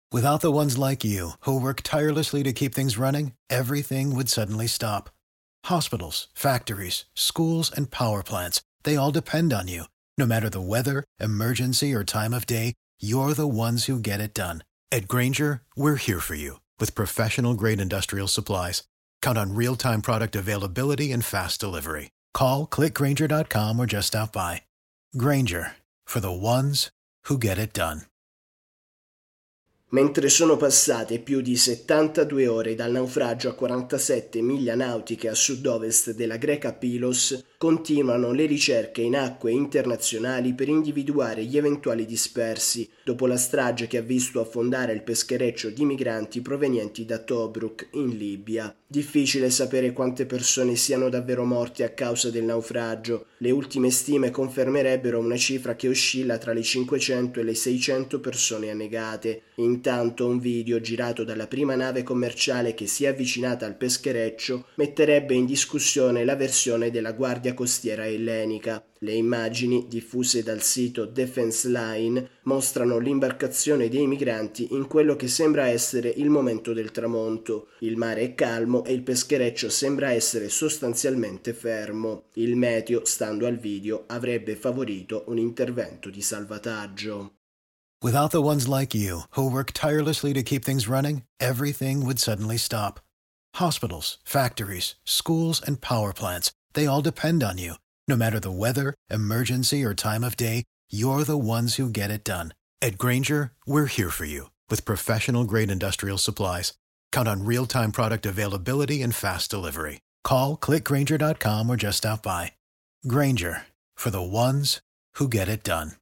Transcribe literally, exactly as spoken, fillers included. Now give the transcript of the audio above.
Without the ones like you, who work tirelessly to keep things running, everything would suddenly stop. Hospitals, factories, schools, and power plants, they all depend on you. No matter the weather, emergency, or time of day, you're the ones who get it done. At Grainger, we're here for you with professional-grade industrial supplies. Count on real-time product availability and fast delivery. Call, click grainger dot com or just stop by. Grainger, for the ones who get it done. Mentre sono passate più di settantadue ore dal naufragio a quarantasette miglia nautiche a sud-ovest della greca Pylos, continuano le ricerche in acque internazionali per individuare gli eventuali dispersi dopo la strage che ha visto affondare il peschereccio di migranti provenienti da Tobruk in Libia. Difficile sapere quante persone siano davvero morte a causa del naufragio. Le ultime stime confermerebbero una cifra che oscilla tra le cinquecento e le seicento persone annegate. Intanto un video girato dalla prima nave commerciale che si è avvicinata al peschereccio metterebbe in discussione la versione della Guardia Costiera ellenica. Le immagini, diffuse dal sito Defense Line, mostrano l'imbarcazione dei migranti in quello che sembra essere il momento del tramonto. Il mare è calmo e il peschereccio sembra essere sostanzialmente fermo. Il meteo, stando al video, avrebbe favorito un intervento di salvataggio. Without the ones like you, who work tirelessly to keep things running, everything would suddenly stop. Hospitals, factories, schools, and power plants, they all depend on you. No matter the weather, emergency, or time of day, you're the ones who get it done. At Grainger, we're here for you with professional-grade industrial supplies. Count on real-time product availability and fast delivery. Call, click grainger dot com or just stop by. Grainger, for the ones who get it done.